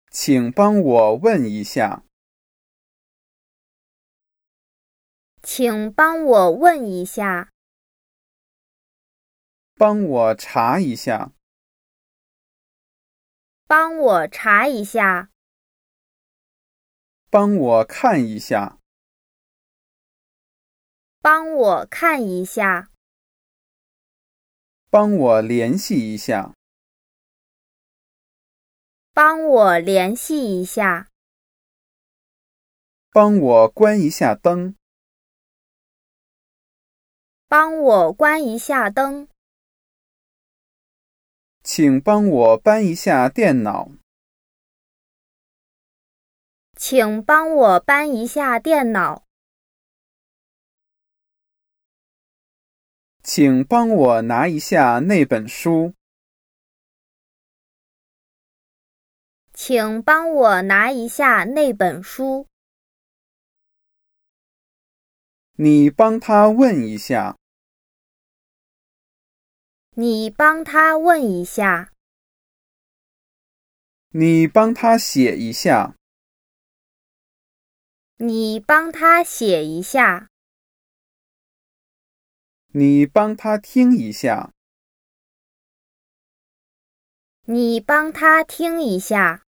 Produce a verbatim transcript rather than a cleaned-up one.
请帮我问一下。 请帮我问一下。 帮我查一下。 帮我查一下。 帮我看一下。 帮我看一下。 帮我联系一下。 帮我联系一下。 帮我关一下灯。 帮我关一下灯。 请帮我搬一下电脑。 请帮我搬一下电脑。 请帮我拿一下那本书。 请帮我拿一下那本书。 你帮他问一下。 你帮他问一下。 你帮他写一下。 你帮他写一下。 你帮他听一下。 你帮他听一下。